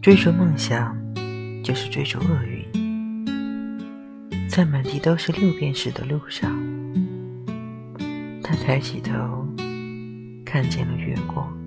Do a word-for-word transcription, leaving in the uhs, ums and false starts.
追逐梦想就是追逐厄运，在满地都是六便士的路上，他抬起头看见了月光。